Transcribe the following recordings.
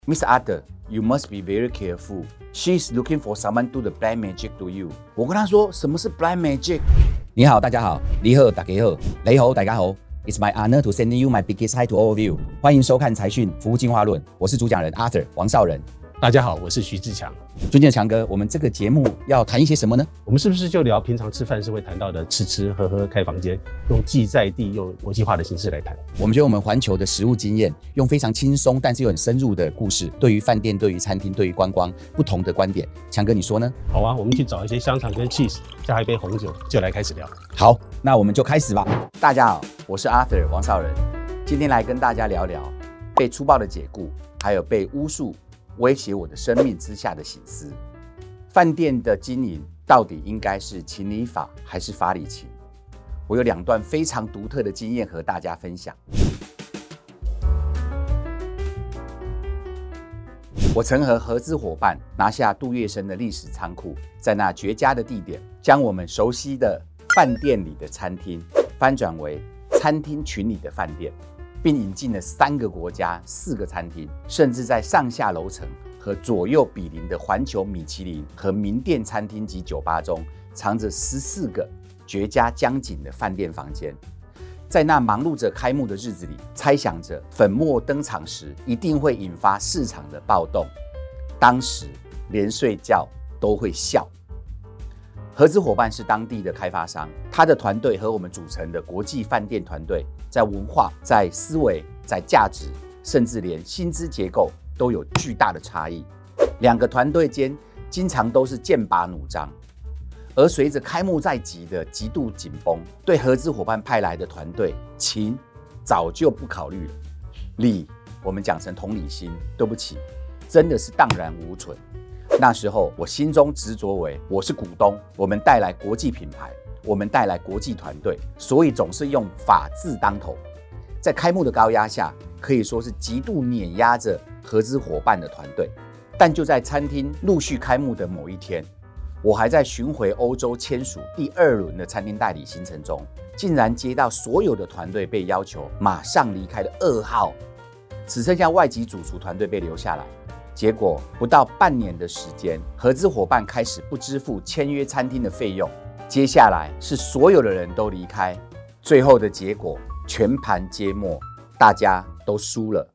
Miss Ada, you must be very careful. She's looking for someone to do the black magic to you. 我跟他說，什麼是 black magic？ 你好，大家好，你好，大家好，你好，大家好。It's my honor to send you my biggest hi to all of you. 歡迎收看財訊服務進化論，我是主講人 Arthur 王少仁。 大家好，我是徐志強。 尊敬的強哥，我們這個節目要談一些什麼呢？ 我們是不是就聊平常吃飯是會談到的吃喝開房間，用既在地又國際化的形式來談？ 我們覺得我們環球的實務經驗，用非常輕鬆但是又很深入的故事，對於飯店、對於餐廳、對於觀光不同的觀點。強哥，你說呢？ 好啊，我們去找一些香腸跟 cheese， 加一杯紅酒，就來開始聊。 好，那我們就開始吧。 大家好，我是 Arthur 王少仁，今天來跟大家聊聊被粗暴的解雇，還有被巫術威脅我的生命之下的省思。飯店的經營到底應該是情理法還是法理情？我有2段非常獨特的經驗和大家分享。我曾和合資夥伴拿下杜月笙的歷史倉庫，在那絕佳的地點，將我們熟悉的飯店裡的餐廳翻轉為餐廳群裡的飯店，並引進了3個國家、4個餐廳，甚至在上下樓層和左右毗鄰的環球米其林和名店餐廳及酒吧中，藏着14個絕佳江景的飯店房間。在那忙碌着開幕的日子裡，猜想着粉墨登場時一定會引發市場的暴動，當時連睡覺都會笑。合資夥伴是當地的開發商，他的團隊和我們組成的國際飯店團隊，在文化、在思維、在價值，甚至連薪資結構都有巨大的差異。2個團隊間經常都是劍拔弩張，而隨着開幕在即的極度緊繃，對合資夥伴派來的團隊，情早就不考慮了，理我們講成同理心，對不起，真的是蕩然無存。那時候我心中執着為，我是股東，我們帶來國際品牌，我們帶來國際團隊，所以總是用法字當頭。在開幕的高壓下，可以說是極度碾壓着合資夥伴的團隊。但就在餐廳陸續開幕的某一天，我還在巡迴歐洲簽署第2輪的餐廳代理行程中，竟然接到所有的團隊被要求馬上離開的噩耗，只剩下外籍主廚團隊被留下來。結果不到半年的時間，合資夥伴開始不支付簽約餐廳的費用，接下來是所有的人都離開，最後的結果全盤皆墨，大家都輸了。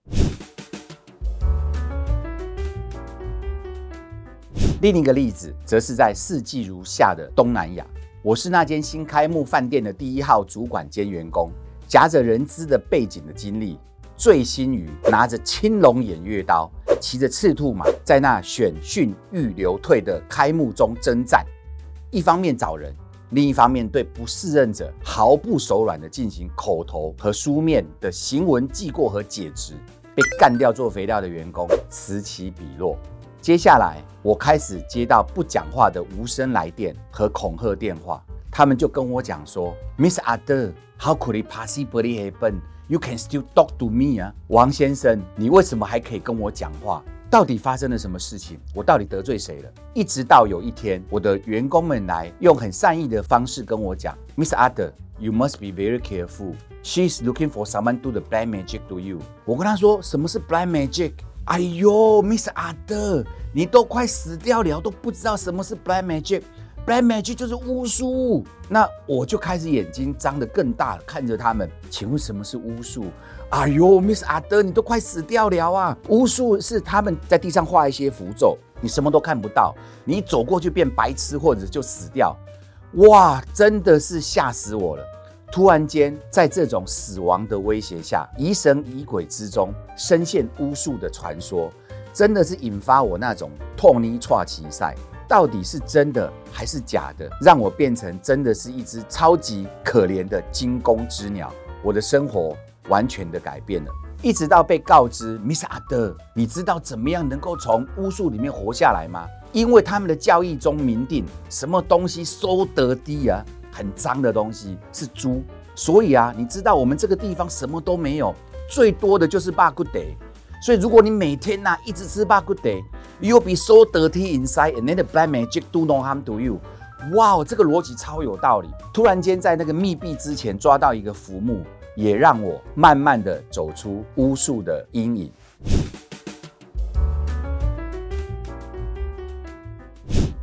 另一個例子則是在四季如夏的東南亞，我是那間新開幕飯店的第1號主管兼員工，夾着人資的背景的經歷，醉心於拿着青龍偃月刀，騎着赤兔馬，在那選訓育留退的開幕中征戰，一方面找人，另一方面對不適任者毫不手軟地進行口頭和書面的行文記過和解職，被幹掉做肥料的員工此起彼落。接下來我開始接到不講話的無聲來電和恐嚇電話，他們就跟我講說 Miss Ada, how could it possibly happen? You can still talk to me 啊，王先生，你為什麼還可以跟我講話？到底發生了什麼事情？我到底得罪誰了？一直到有一天，我的員工們來用很善意的方式跟我講 ，Miss Ada, you must be very careful. She's looking for someone to do the black magic to you. 我跟他說，什麼是 black magic？ 哎呦 ，Miss Ada， 你都快死掉了，都不知道什麼是 black magic。Black magic 就是巫術，那我就開始眼睛張得更大了，看着他們。請問什麼是巫術？哎呦 ，Miss Ada， 你都快死掉了啊！巫術是他們在地上畫一些符咒，你什麼都看不到，你走過去變白痴或者就死掉。哇，真的是嚇死我了！突然間，在這種死亡的威脅下，疑神疑鬼之中，深陷巫術的傳說，真的是引發我那種痛泥剉奇賽。到底是真的還是假的，讓我變成真的是一隻超級可憐的驚弓之鳥，我的生活完全的改變了。一直到被告知 Miss Ada， 你知道怎麼樣能夠從巫術裡面活下來嗎？因為他們的教義中明定，什麼東西收得低啊，很髒的東西是豬，所以啊，你知道我們這個地方什麼都沒有，最多的就是肉骨茶。所以如果你每天一直吃肉骨茶，You'll be so dirty inside, and then the black magic do no harm to you. 哇，这個邏輯超有道理。突然間在那個密閉之前抓到一個浮木，也讓我慢慢的走出巫術的陰影。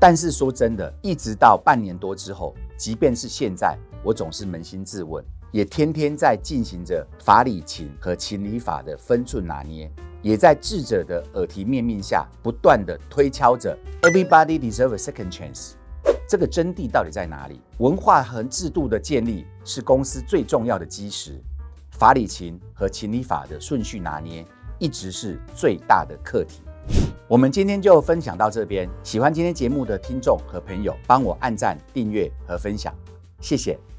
但是說真的，一直到半年多之後，即便是現在，我總是捫心自問，也天天在進行着法理情和情理法的分寸拿捏，也在智者的耳提面命下，不斷的推敲着 Everybody deserves a second chance。這個真諦到底在哪裡？文化和制度的建立是公司最重要的基石，法理情和情理法的順序拿捏，一直是最大的課題。我們今天就分享到這邊，喜歡今天節目的聽眾和朋友，幫我按讚、訂閱和分享，謝謝。